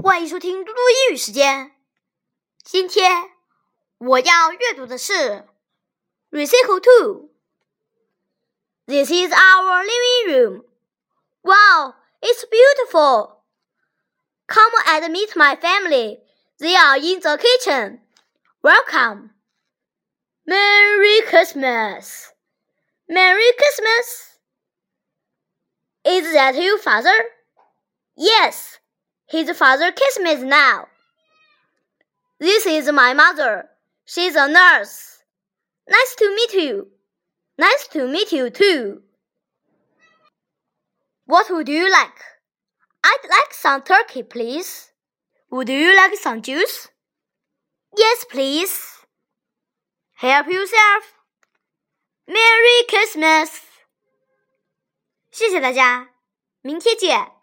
欢迎收听嘟嘟英语时间。今天我要阅读的是 Recital 2。 This is our living room. Wow, it's beautiful. Come and meet my family. They are in the kitchen. Welcome. Merry Christmas. Merry Christmas. Is that your father? Yes, his father Christmas now. This is my mother. She's a nurse. Nice to meet you. Nice to meet you too. What would you like? I'd like some turkey, please. Would you like some juice? Yes, please. Help yourself. Merry Christmas. 谢谢大家，明天见。